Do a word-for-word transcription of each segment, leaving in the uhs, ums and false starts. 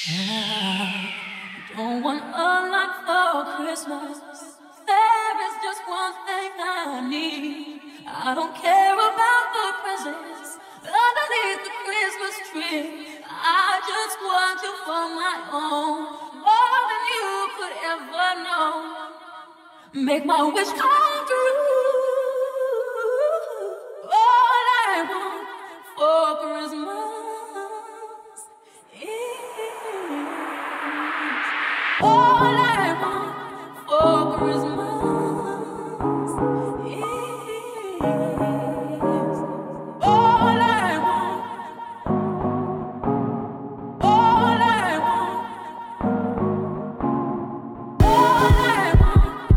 I don't want a lot for Christmas. There is just one thing I need. I don't care about the presents underneath the Christmas tree. I just want you for my own, more than you could ever know. Make my wish come true. All I want for Christmas. All I want for Christmas is all I want, all I want, all I want,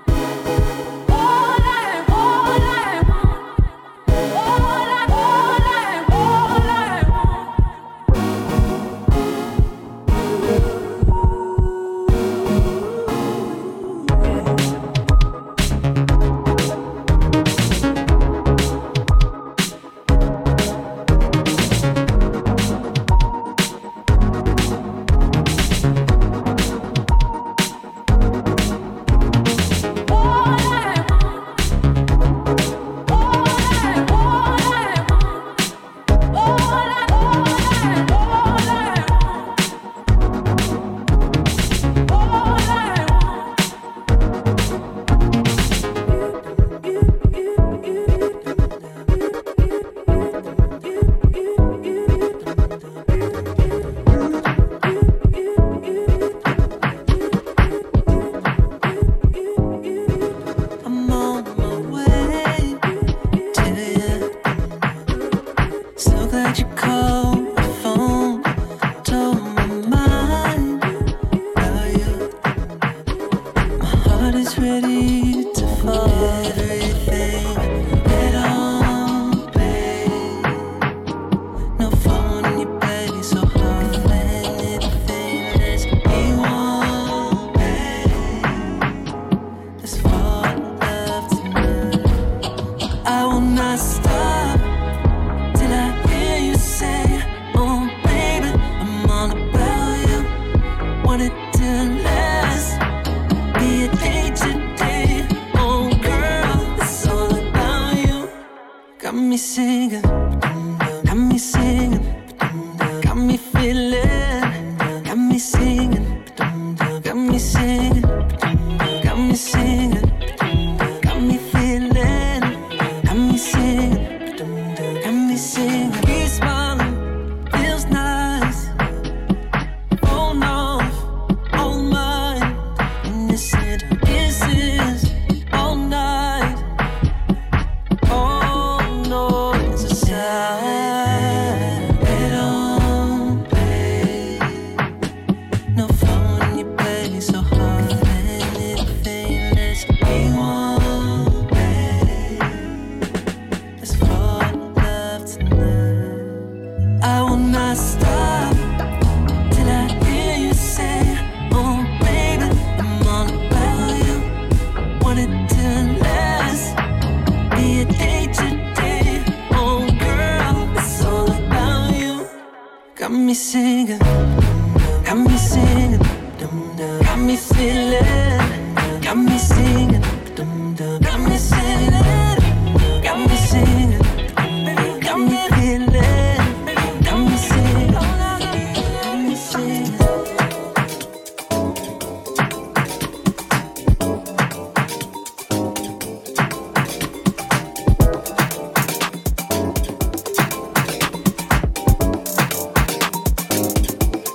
all I, all I want, all I, all I, all I want.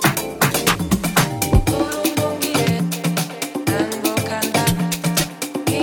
Quiero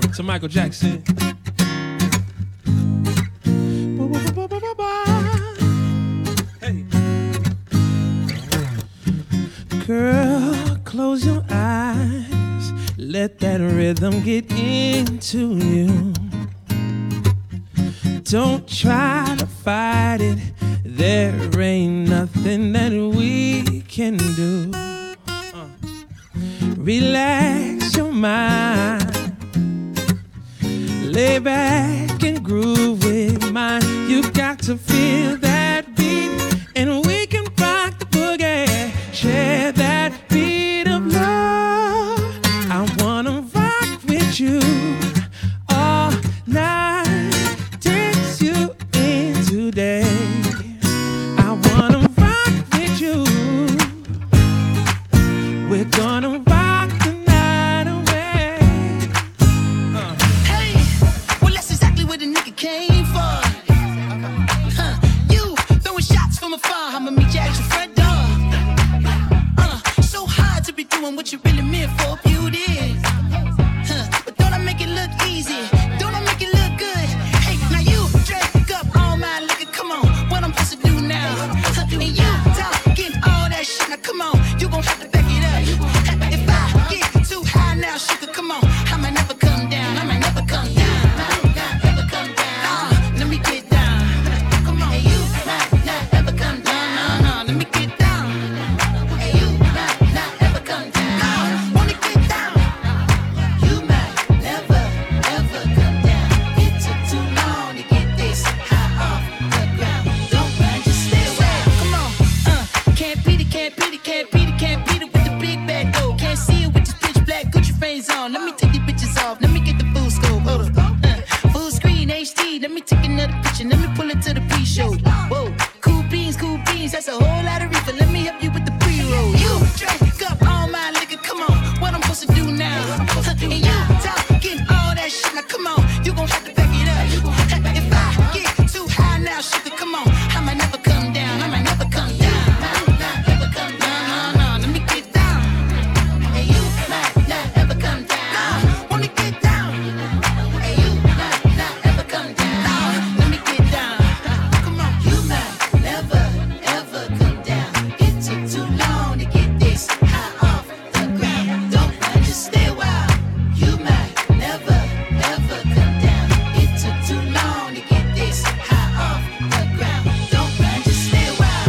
to Michael Jackson. Hey. Girl, close your eyes. Let that rhythm get into you. Don't try to fight it. There ain't nothing that we can do. Uh. Relax your mind. Lay back and groove with mine. You got to feel that beat, and we can rock the boogie. Share that beat of love. I wanna rock with you all night. Dance you in today. I wanna rock with you. We're gonna rock the night away. Uh. Hey, well that's exactly what the nigga came for. Huh, you throwing shots from afar. I'ma meet you at your front door. Uh, so hard to be doing what you really meant for, beauty. Huh, but don't I make it look easy? Don't I make it look good? Hey, now you drink up all my liquor. Come on, what I'm supposed to do now? Huh, and you talking all that shit. Now come on, you gon' have to back it up. If I get too high now, sugar, come on, I might never come down. I might never come down. Never come down. Uh, let me get down. Come on, hey, you might not ever come down. No, no, let me get down. Hey, you might not ever come down. No, wanna get down. You might never ever come down. It took too long to get this high off the ground. Don't run, just stay away. Come on, uh, can't beat it, can't beat it, can't beat it, can't beat it with the big bad dough. Can't see it with this pitch black Gucci frames on. Let me take these bitches off. Let me get the full scope. Hold up, uh, full screen H D. Let me take another picture. Let me pull it to the pre-show. Whoa, cool beans, cool beans. That's a whole lot of reefer. Let me help you with the pre-roll. You drink up all my liquor. Come on, what I'm supposed to do now? Huh, and you talking all that shit. Now come on, you gon' have to back it up. If I get too high now, sugar, come on, I might never come down. I might never come down. Never come down. No, no, let me get down. Hey, you might not ever come down. Wanna get down. Hey, you might not ever come down. Let me get down. Come on, you might never ever come down. It took too long to get this high off the ground. Don't run, just stay a while. You might never ever come down. It took too long to get this high off the ground. Don't run, just stay a while.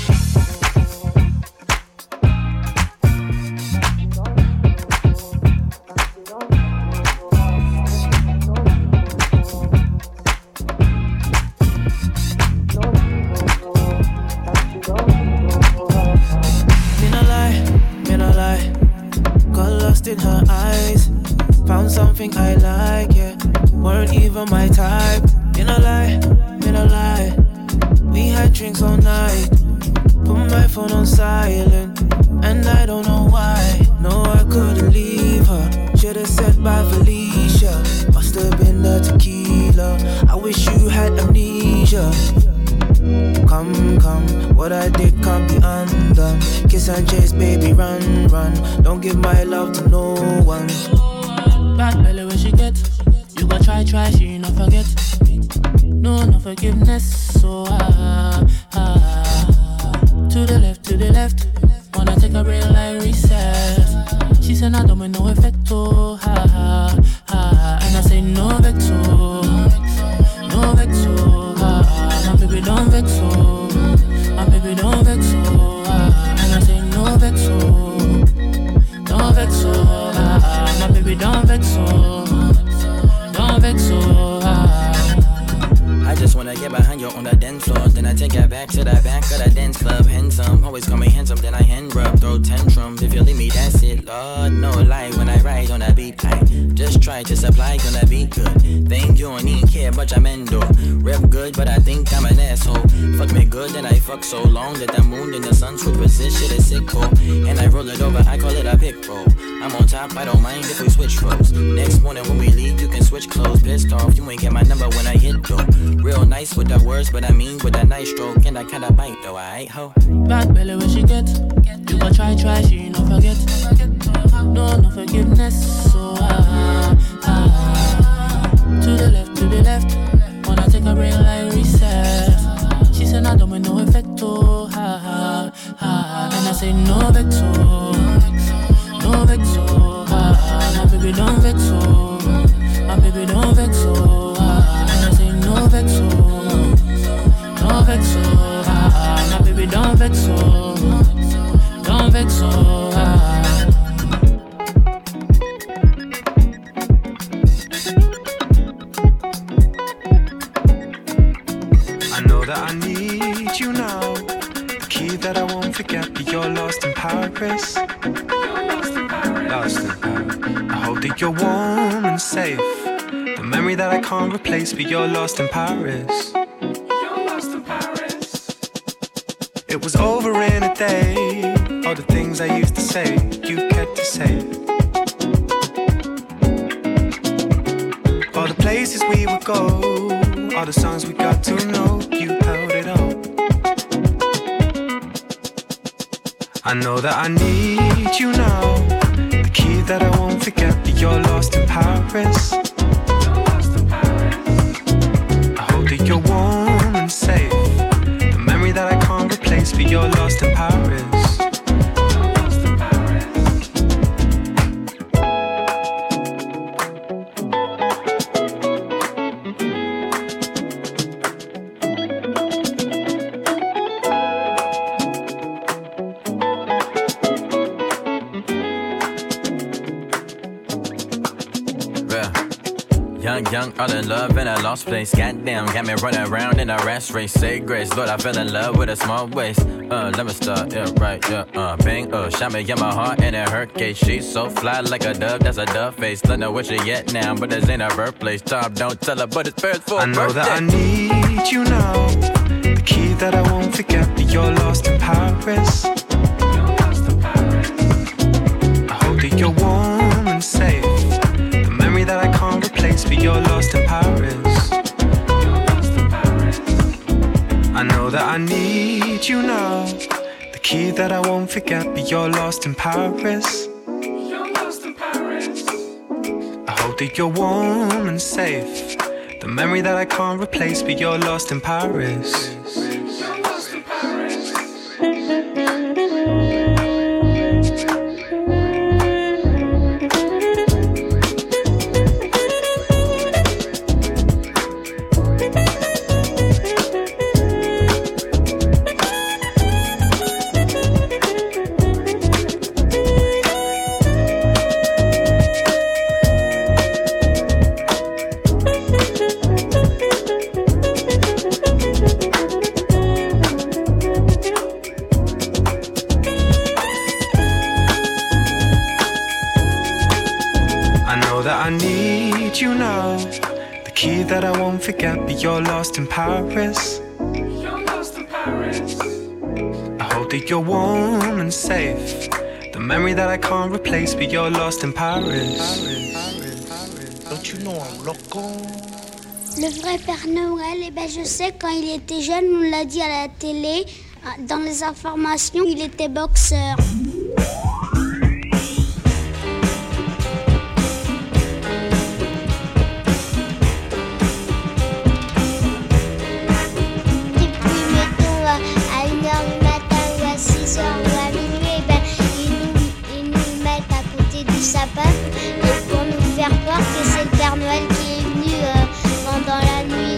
Me no lie, me no lie. Got lost in her eyes. Found something I like, yeah. Weren't even my type. Me no lie, me no lie. We had drinks all night. Put my phone on silent, and I don't know why. No, I couldn't leave her. Should've said bye, Felicia. Must've been the tequila. I wish you had amnesia. Come, come, what I did can't be undone. Kiss and chase, baby, run, run. Don't give my love to no one. Bad belly when she get. You gon' try, try, she not forget. No, no forgiveness. So ah, ah. To the left, to the left. Wanna take a real life reset. She said I don't make no effect. Oh, ha, ha, ha. And I say no vex, oh. No vex, oh, ha, ha. My baby don't vex, oh. My baby don't vex, oh, ha, ha. And I say no vex, oh. Don't vex, oh, ha, ha. My baby don't vex, oh. Don't vex, oh, ha, ha. I just wanna get behind you on the dance floor. Then I take it back to the back of the dance club. Handsome, always call me handsome. Then I hand rub, throw tantrums. If you leave me, that's it. Lord, no lie when I ride on the beat. I just try to supply, gonna be good. Think you don't even care, but I'm endo. Rep good, but I think I'm an asshole. Fuck me good, then I fuck so long that the moon and the sun switch position is sick, oh. And I roll it over, I call it a pick roll. I'm on top, I don't mind if we switch roles. Next morning when we leave, you can switch clothes. Pissed off, you ain't get my number when I hit though. Real nice with the words, but I mean with a nice stroke. And I kinda bite though, I ho. Bad belly when she get. You gon' try, try, she no forget. No, no forgiveness. So ah, ah. Paris. Lost in Paris. Lost in Paris. I hope that you're warm and safe. The memory that I can't replace, but you're lost in Paris. You're lost in Paris. It was over in a day. All the things I used to say, you kept to say. All the places we would go, all the songs we got to know, you held it all. I know that I need you now, the key that I won't forget, but you're lost in Paris. You're lost in Paris. I hope that you're warm and safe, the memory that I can't replace, but you're lost in Paris. Young, young, all in love in a lost place. Goddamn, got me running around in a race race. Say grace, Lord, I fell in love with a small waist. Uh, let me start, yeah, right, yeah, uh, bang, uh, shot me in my heart and it hurt case. She's so fly like a dove, that's a dove face. Don't know where she at now, but this ain't her birthplace. Tom, don't tell her, but it's first for I know birthday. that I need you now, the key that I won't forget, but you're lost in Paris. You're lost in Paris. I hope that you're warm and safe, the memory that I can't replace, but you're lost in Paris. You're lost in Paris. I know that I need you now, the key that I won't forget, but you're lost in Paris. You're lost in Paris. I hope that you're warm and safe, the memory that I can't replace, but you're lost in Paris. You're lost in Paris. I need you now, the key that I won't forget, but you're lost in Paris. You're lost in Paris. I hope that you're warm and safe, the memory that I can't replace, but you're lost in Paris. Don't you know I'm loco? Le vrai Père Noël, eh ben je sais, quand il était jeune, on l'a dit à la télé, dans les informations, il était boxeur. Sapin, et pour nous faire croire que c'est le Père Noël qui est venu euh, pendant la nuit.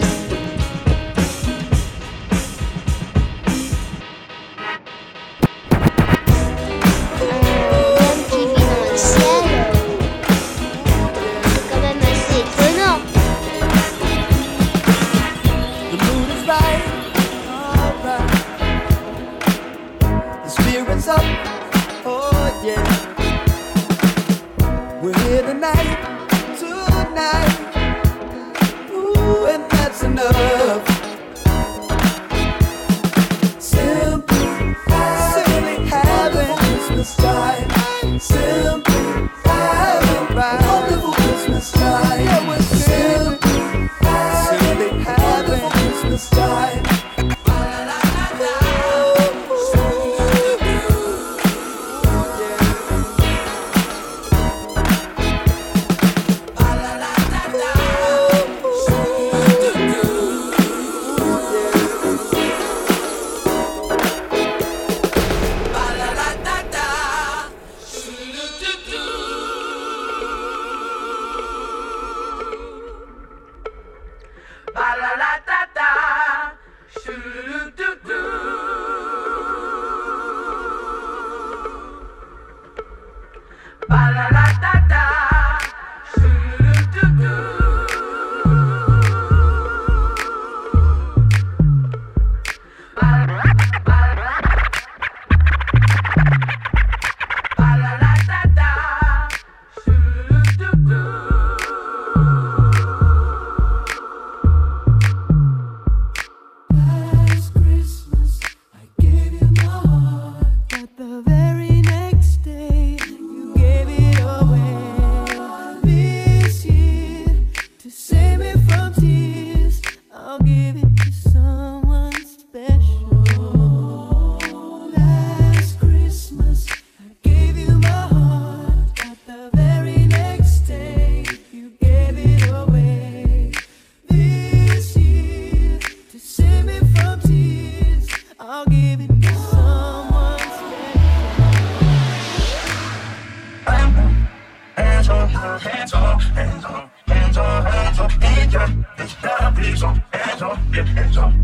Please, hands up, get hands up.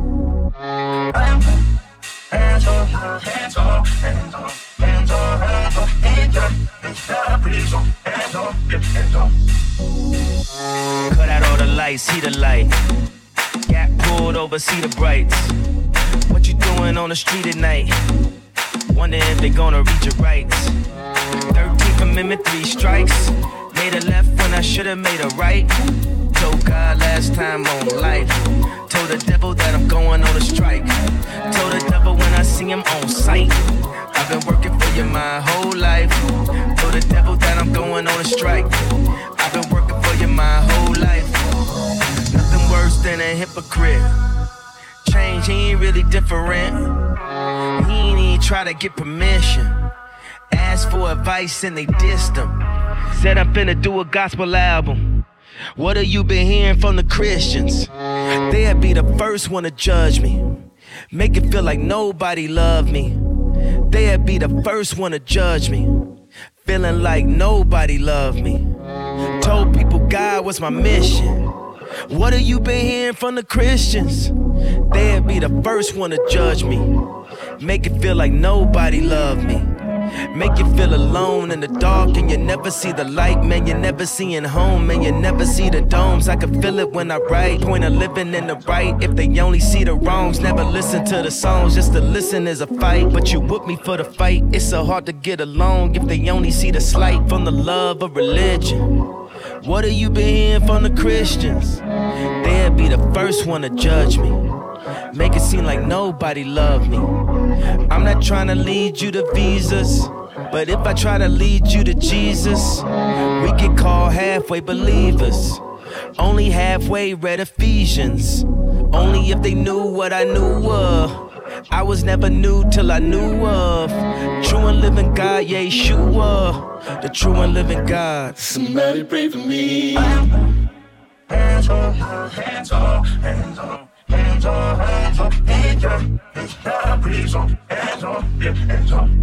Hands up, hands up, hands up, hands up, hands up, hands up. Please, hands up, get hands up. Cut out all the lights, see the light. Got pulled over, see the brights. What you doing on the street at night? Wonder if they gonna read your rights. thirteenth Amendment, three strikes. Made a left when I should've made a right. Told God last time on life. Told the devil that I'm going on a strike. Told the devil when I see him on sight. I've been working for you my whole life. Told the devil that I'm going on a strike. I've been working for you my whole life. Nothing worse than a hypocrite. Change, he ain't really different. He ain't even try to get permission. Asked for advice and they dissed him. Said I'm finna do a gospel album. What have you been hearing from the Christians? They'll be the first one to judge me. Make it feel like nobody loved me. They'll be the first one to judge me. Feeling like nobody loved me. Told people God was my mission. What have you been hearing from the Christians? They'll be the first one to judge me. Make it feel like nobody loved me. Make you feel alone in the dark and you never see the light. Man, you never seeing home, man, you never see the domes. I can feel it when I write. Point of living in the right. If they only see the wrongs, never listen to the songs. Just to listen is a fight, but you with me for the fight. It's so hard to get along if they only see the slight from the love of religion. What have you been hearing from the Christians? They'll be the first one to judge me. Make it seem like nobody loved me. I'm not trying to lead you to visas, but if I try to lead you to Jesus, we get called halfway believers. Only halfway read Ephesians. Only if they knew what I knew of. I was never new till I knew of. True and living God, Yeshua. The true and living God. Somebody pray for me. Hands up, hands up, hands up. Hands up, hands up, hands up, hands up, please up, hands up, get hands up.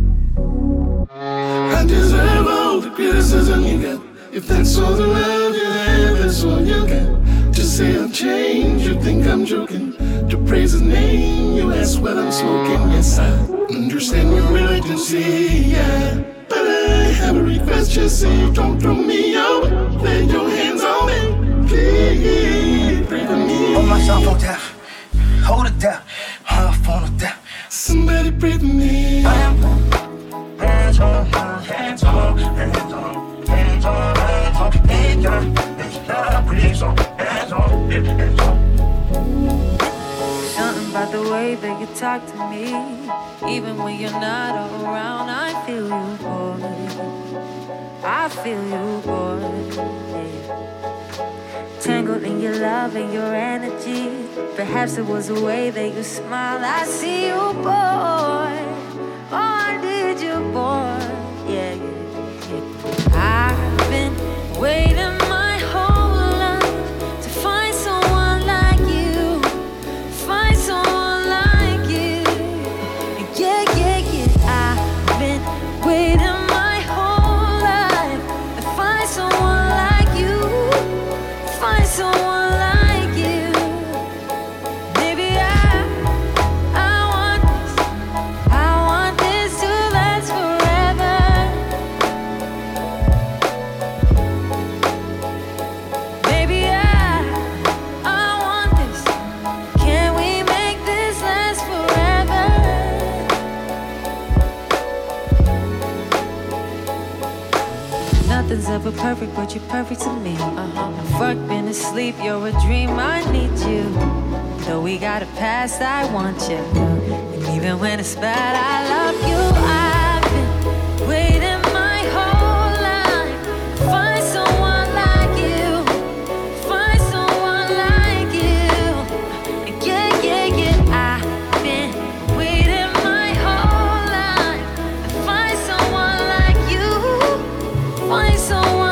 I deserve all the criticism you get. If that's all the love you have, that's all you get. Just say I've changed, you think I'm joking. To praise his name, you ask what I'm smoking. Yes, I understand your urgency, yeah. But I have a request, just say don't throw me out. Lay your hands on me, please, pray for me. Hold myself on down. Hold it down, hold my phone down. Somebody pray for me. Hands up, hands up, hands up, hands up, hands up, hands up, please up, hands up, hands up. Something about the way that you talk to me. Even when you're not around, I feel you, boy. I feel you, boy. Yeah. Tangled in your love and your energy. Perhaps it was the way that you smiled. I see you, boy. Oh, I need you, boy. Yeah, yeah, yeah. I've been waiting my whole life to find someone like you. Find someone like you. Yeah, yeah, yeah. I've been waiting my whole life to find someone like you. Find someone like you. Maybe I, I want this. I want this to last forever. Maybe I, I want this. Can we make this last forever? Nothing's ever perfect, but you're perfect to me. Uh-huh. Fuck been asleep, you're a dream, I need you. Though we got a past, I want you. And even when it's bad, I love you. I've been waiting my whole life to find someone like you. Find someone like you. Yeah, yeah, yeah. I've been waiting my whole life to find someone like you. Find someone.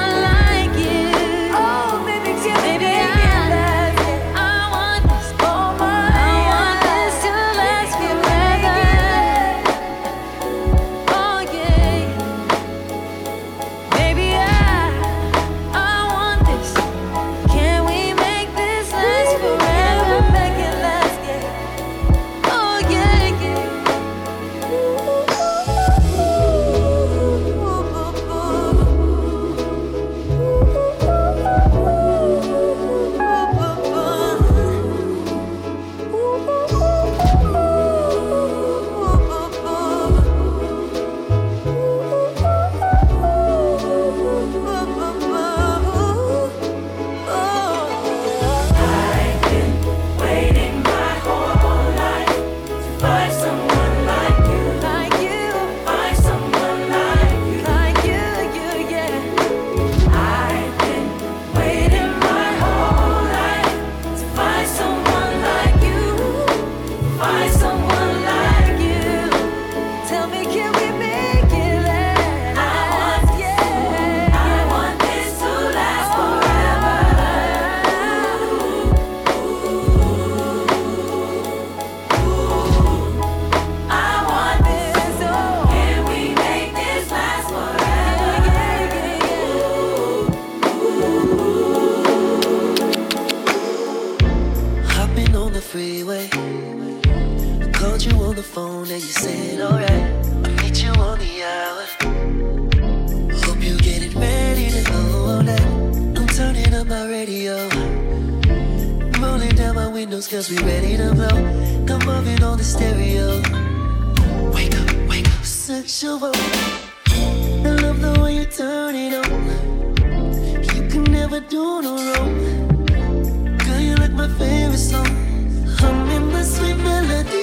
windows cause we ready to blow. Come moving on the stereo. Wake up, wake up, sexual. I love the way you turn it on. You can never do no wrong. Girl, you like my favorite song. I'm in my sweet melody.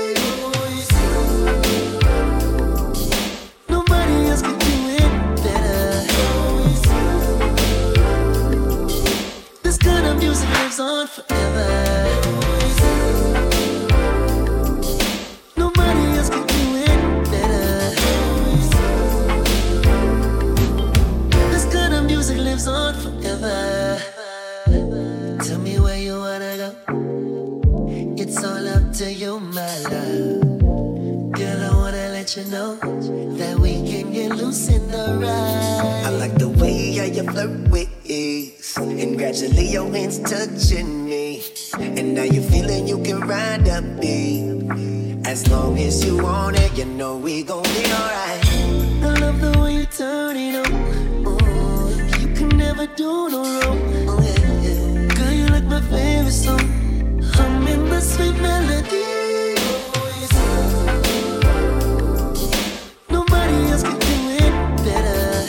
Nobody else can do it better. This kind of music lives on forever. Nobody else can do it better. This kind of music lives on forever. Tell me where you wanna go. It's all up to you, my love. Girl, I wanna let you know that we can get loose in the ride. I like the way how you flirt with ease, and gradually your hands touching me. And now you feeling you can ride the beat. As long as you want it, you know we gon' be alright. I love the way you turn it on. Oh, you can never do no wrong. Oh, yeah, yeah. Girl, you like my favorite song. I'm in the sweet melody. Nobody else can do it better.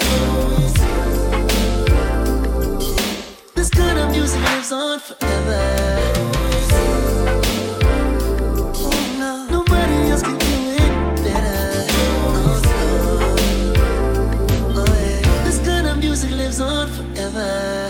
This kind of music lives on forever. Oh no, nobody else can do it better. Oh, oh, oh, yeah. This kind of music lives on forever.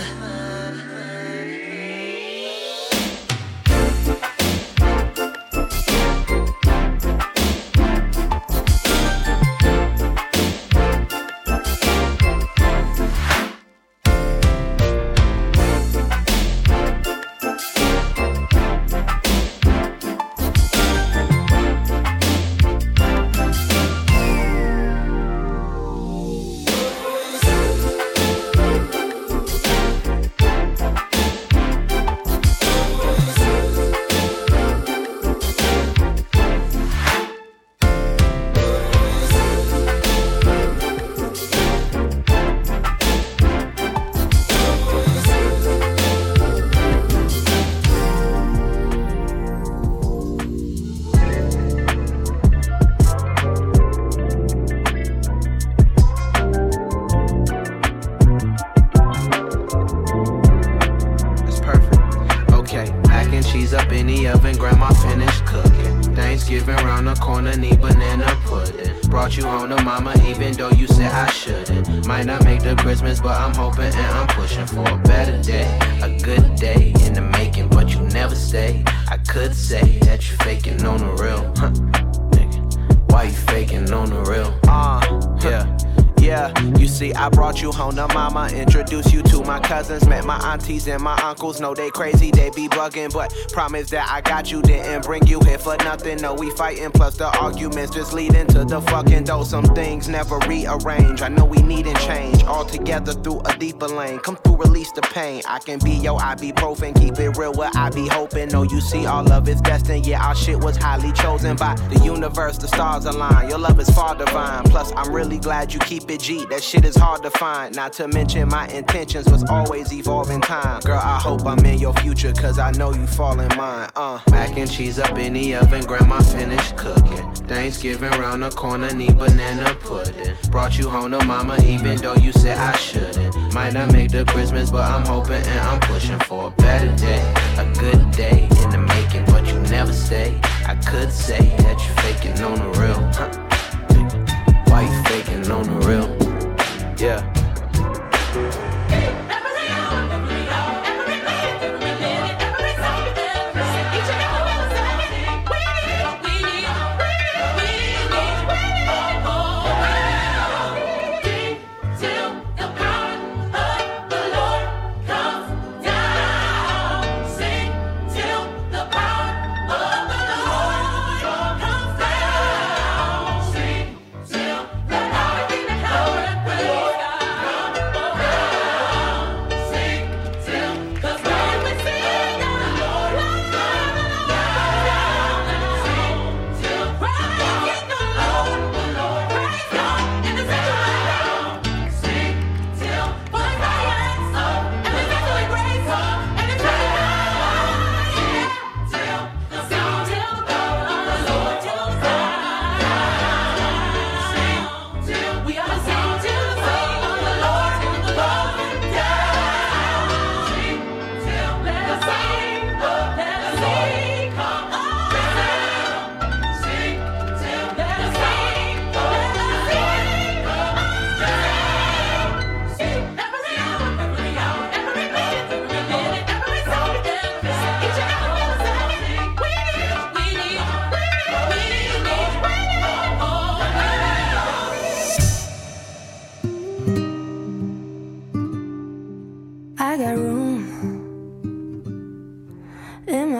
Aunties and my uncles know they crazy, they be bugging, but promise that I got you, didn't bring you here for nothing. No, we fighting, plus the arguments just leading to the fucking though. Some things never rearrange. I know we needin' change all together through a deeper lane. Come through, release the pain. I can be your ibuprofen, keep it real. What I be hoping. No, you see, all of it's destined. Yeah, our shit was highly chosen by the universe. The stars align. Your love is far divine. Plus, I'm really glad you keep it G. That shit is hard to find. Not to mention my intentions was always evolving. Time. Girl, I hope I'm in your future, cause I know you fall in mine. Uh. Mac and cheese up in the oven, grandma finished cooking. Thanksgiving round the corner, need banana pudding. Brought you home to mama, even though you said I shouldn't. Might not make the Christmas, but I'm hoping and I'm pushing for a better day. A good day in the making, but you never stay. I could say that you faking on the real. Huh. Why you faking on the real? Yeah.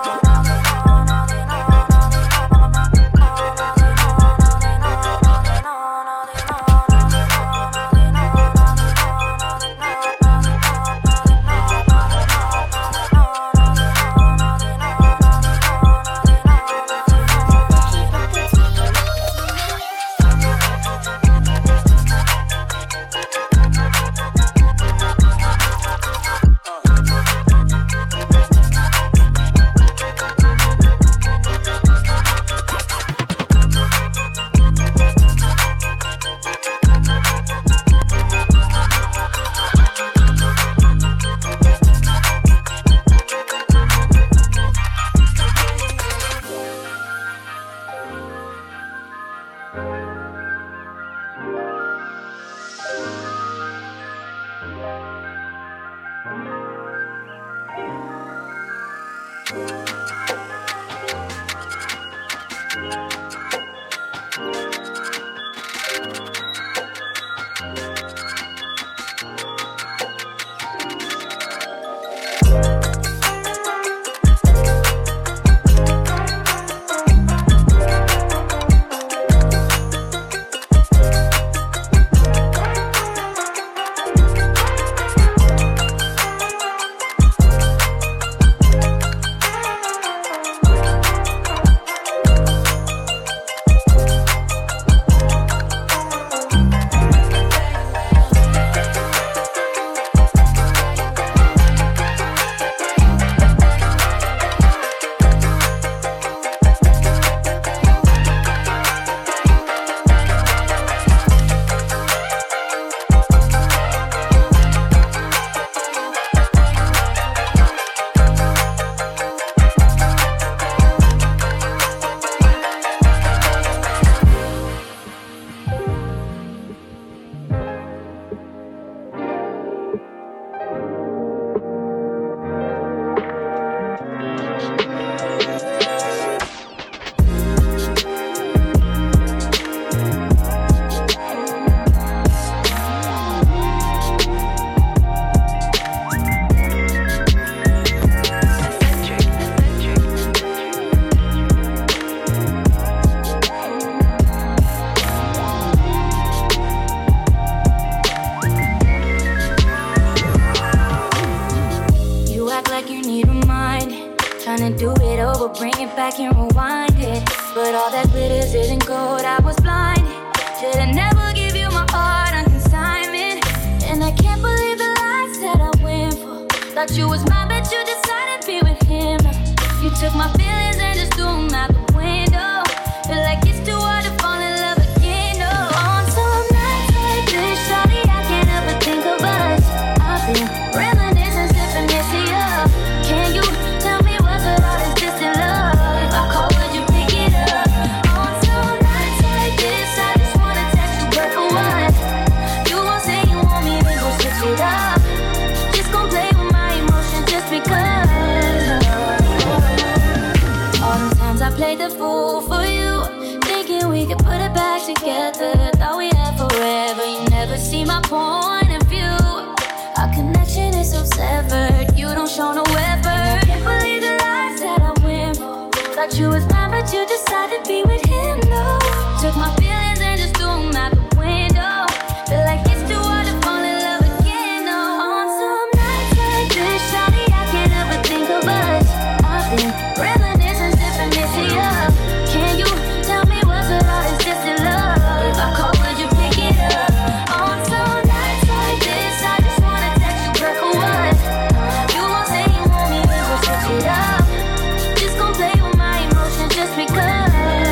Trying to do it over, bring it back and rewind it. But all that glitters isn't gold, I was blind. Should've never give you my heart on consignment. And I can't believe the lies that I went for. Thought you was mine, but you decided to be with him. You took my feelings and just threw them out the window. Feel like it's too hard to fall in love again, no. On some nights like this, shawty, I can't ever think about my point of view. Our connection is so severed. You don't show no effort. I can't believe the lies that I went for. Thought you was mine, but you decided to be with him, no. Took my feelings and just threw them out the window. Feel like it's too hard to fall in love again, no. On some nights like this, shawty, I can't ever think of us. I've been reminiscing, sipping, missing up. Can you tell me what's with all this distant love? If I call, would you pick it up? On some nights like this, I just wanna text you, girl, for what? You won't say you want me, we will switch it up. Just gon' play with my emotions just because.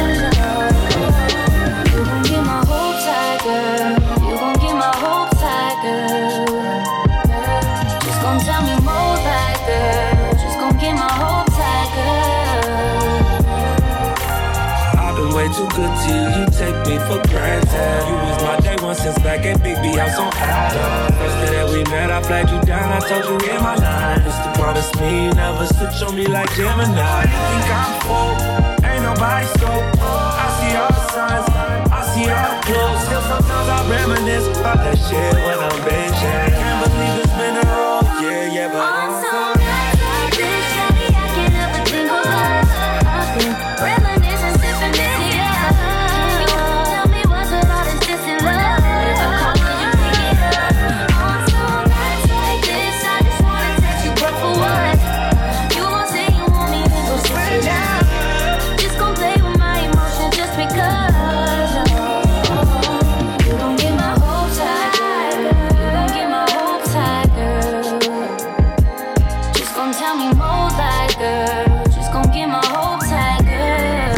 You gon' get my whole tight, girl. You gon' get my whole tight, girl. Just gon' tell me more like, girl. Just gon' get my whole tight, girl. I've been way too good to you, you take me for granted. You was my day one since back at Big B House on Adams. First day that we met, I flagged you down, I told you in my line. It's the promise me, you never switch on me like Gemini. You think I'm full, ain't nobody scope. I see all the signs, I see all the clues. Still sometimes I reminisce about that shit when I'm bitching. Can't believe it's been a roll, yeah, yeah, but I'm so nights like this, shawty, I can't ever think of us. I've been reminiscing, sipping, missing up. Can you tell me what's with all this distant love? If I call, would you pick it up? On some nights like this, I just wanna text you, but for what? You won't say you want me, then go switch it up. Just gon' play with my emotions just because. You gon' get my whole tight, girl. You gon' get my whole tight, girl. Just gon' tell me more like, girl. Just gon' get my whole tight, girl.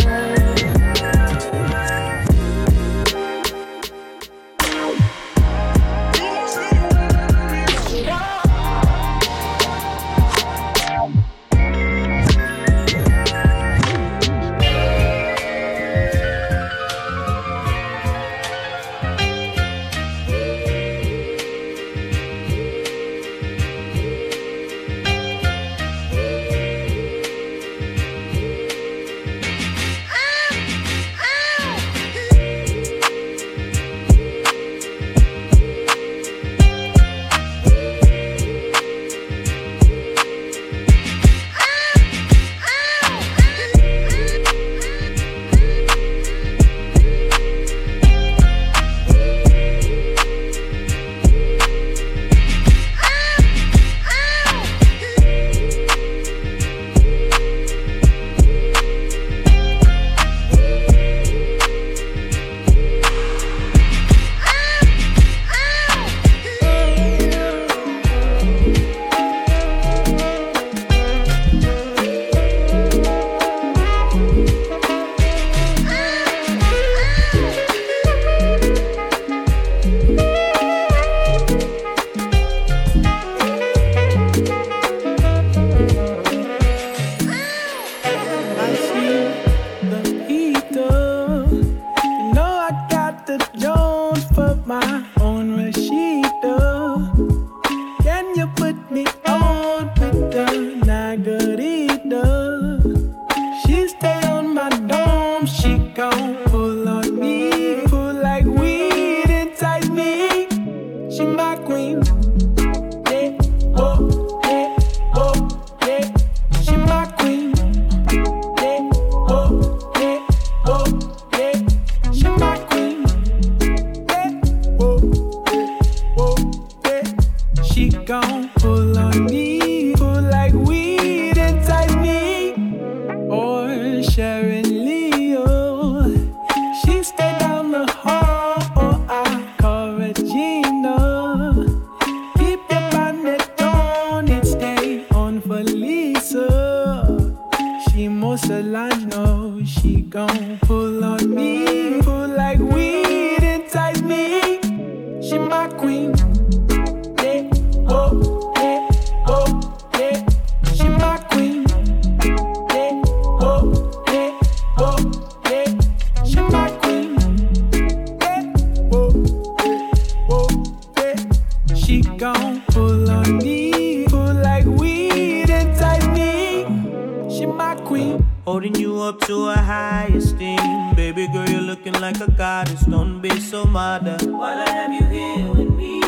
Holding you up to a high esteem. Baby girl, you're looking like a goddess. Don't be so mad. While I have you here with me.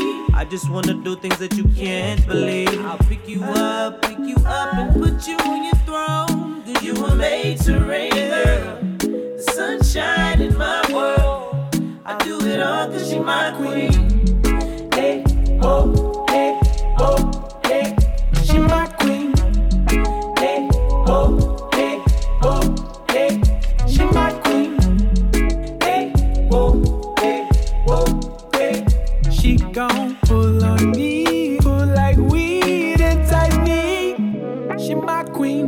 just wanna do things that you can't believe. I'll pick you up, pick you up and put you on your throne. Cause you were made to reign, girl. The sunshine in my world. I do it all cause she my queen. Hey, oh, hey, oh, hey, she my queen. Hey, oh, hey, oh, hey, she my queen. Hey, oh, hey, oh, hey, she gon' pull on me, pull like weed inside me. She my queen.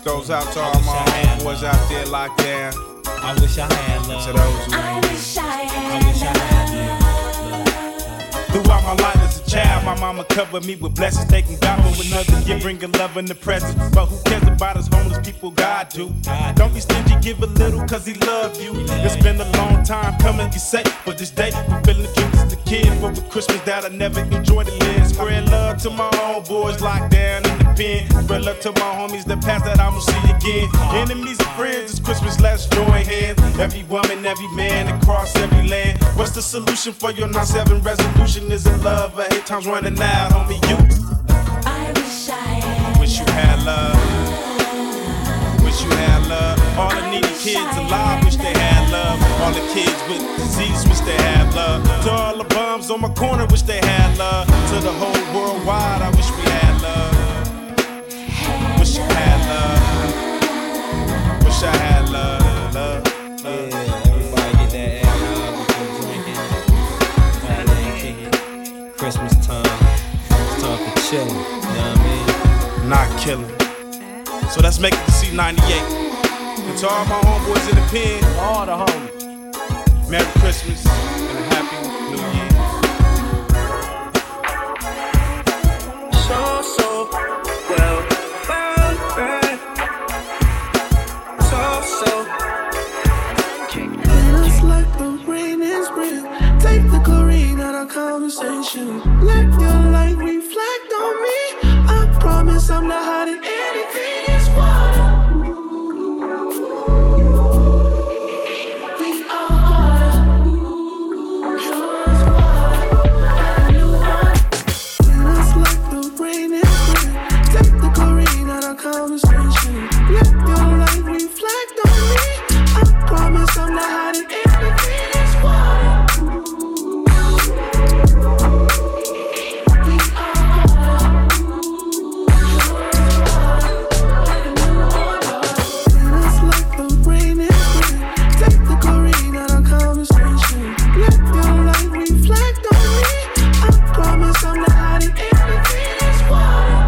goes out to all my homeboys out there locked down. I wish I had love. To those who I wish I had. I wish I had love. Throughout my life as a child, my mama covered me with blessings. Taking God for another year, bringing love in the present. But who cares about us homeless people? God do. Don't be stingy, give a little, cause he love you. It's been a long time coming, you say, but this day, I'm feeling the dreams as a kid. For the Christmas that I never enjoyed to live. Spread love to my homeboys locked down in the pen. Spread love to my homies that passed that I won't see again. Enemies and friends, it's Christmas, let's join hands. Every woman, every man, across every land. What's the solution for your nine seven resolution? Is it love? I hate times running out on me, you. I wish I had. Wish you had love. Wish you had love. All the needy kids alive wish they had love. All the kids with disease wish they had love. To all the bums on my corner wish they had love. To the whole world wide I wish we had love. Wish you had love. Wish I had love. Love. Yeah, everybody get that alcohol before drinking. Everybody kicking. Christmas time. It's time for chilling. You know what I mean? Not killing. So let's make it to C ninety-eight. And to all my homeboys in the pen, all the homies, Merry Christmas and a Happy New Year. So, so, well, well, well. So, so. Feels like the rain is real. Take the chlorine out of conversation. Let your light reflect on me. I promise I'm not hiding anything. It's water. Conversation. Let your light reflect on me. I promise I'm not hiding anything. It's water. It's like the rain is real. Take the chlorine out of conversation. Let your light reflect on me. I promise I'm not hiding anything. It's water.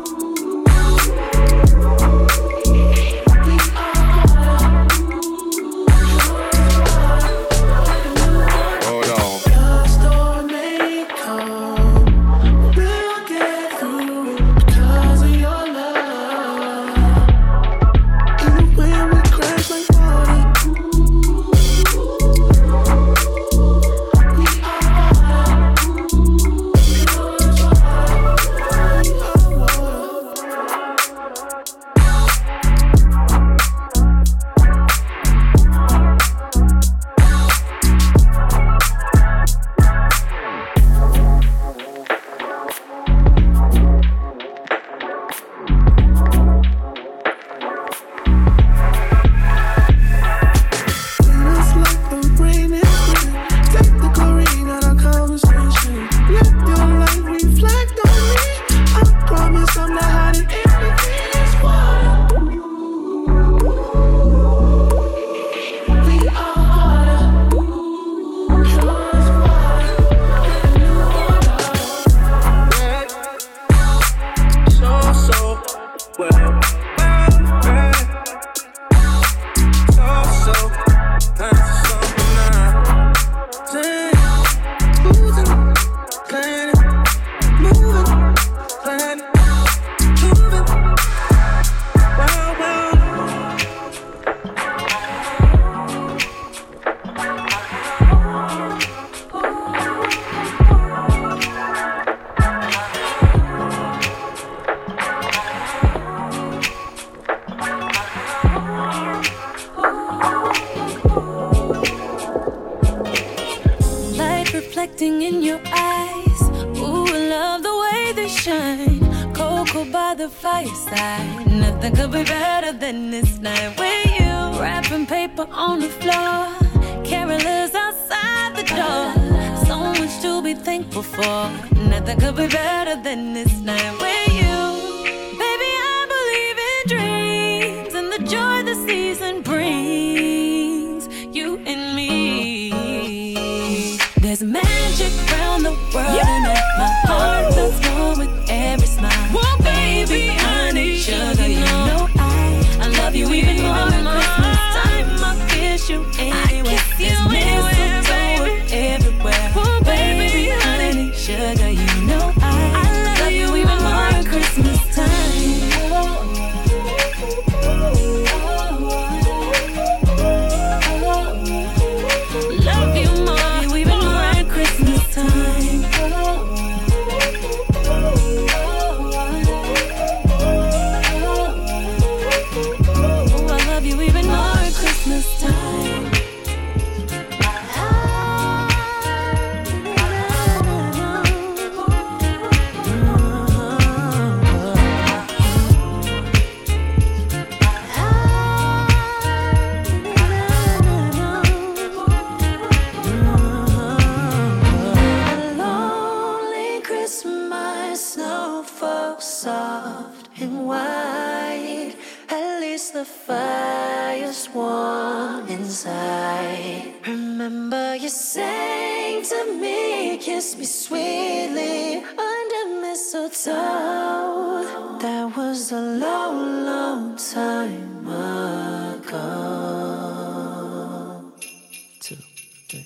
reflecting in your eyes. Ooh, I love the way they shine. Cocoa by the fireside. Nothing could be better than this night with you. Wrapping paper on the floor. Carolers outside the door. So much to be thankful for. Nothing could be better than this night with you. Baby, I believe in dreams and the joy the season brings. You and me. There's magic around the world, yeah. And that my heart feels warm with every smile. Well, baby, I need sugar, you know I, the fire's warm inside. Remember you sang to me, kiss me sweetly under mistletoe. That was a long, long time ago. Two, three.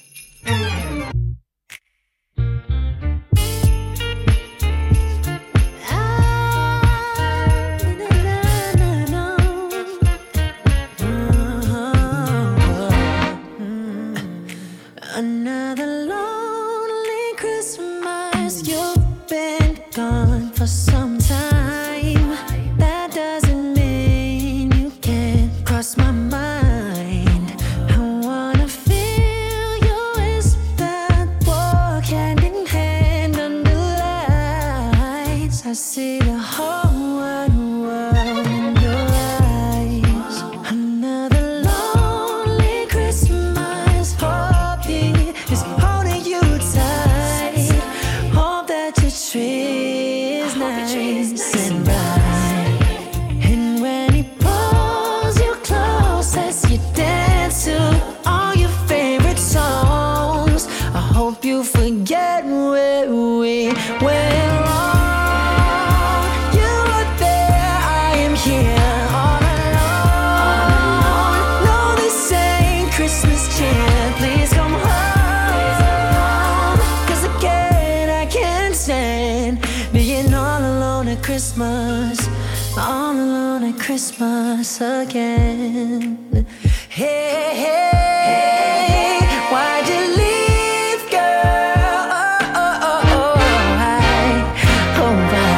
Another lonely Christmas. You've been gone for some time. That doesn't mean you can't cross my mind. I wanna feel your whisper, walk hand in hand under lights. I see the whole wide world in your eyes. Another lonely Christmas. Hope is holding you tight. Hope that your tree is nice and bright. And when he pulls you close as you dance to all your favorite songs, I hope you forget where we went wrong. You are there, I am here, all alone. No, this ain't Christmas chant, please come home. Cause again, I can't stand being all alone at Christmas. All alone at Christmas again. Hey, hey, why'd you leave, girl? Oh, oh, oh, oh, why? Oh, why?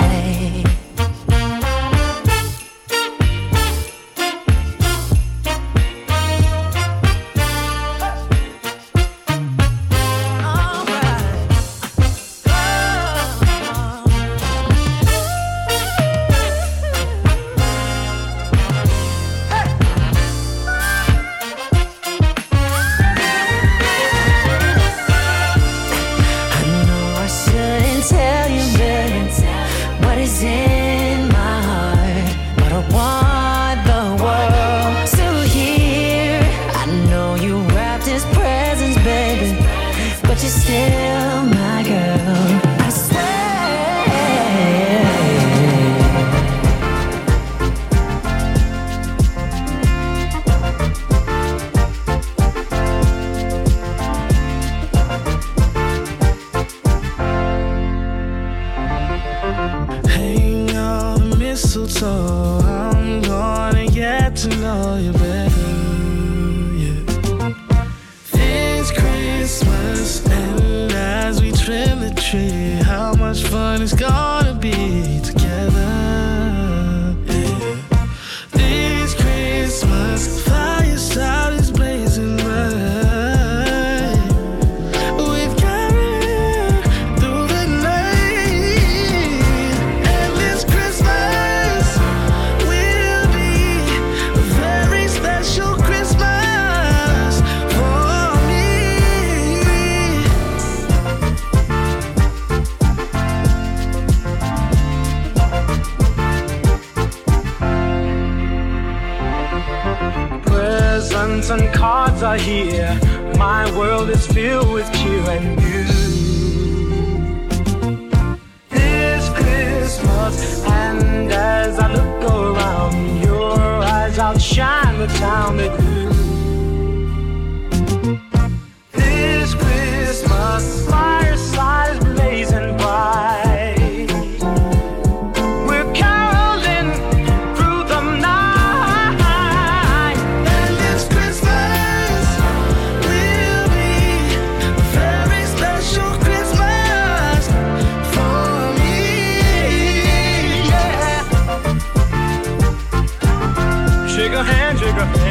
Tell you, baby, what is in my heart, but I want the world to hear. I know you wrapped his presents, baby, but you're still my girl, I swear. Hang on the mistletoe, I'm gonna get to know you better, yeah. This Christmas, and as we trim the tree, how much fun it's gonna be together, yeah. This Christmas, fireside is blazing bright. We've carried through the night, and this Christmas will be a very special Christmas for me. Presents and cards are here. My world is filled with cheer and you. This Christmas, and as I look around, your eyes outshine the town they do. This Christmas, fireside is blazing bright. We're caroling through the night, and this Christmas will be a very special Christmas for me, yeah. Shake a hand, shake a hand.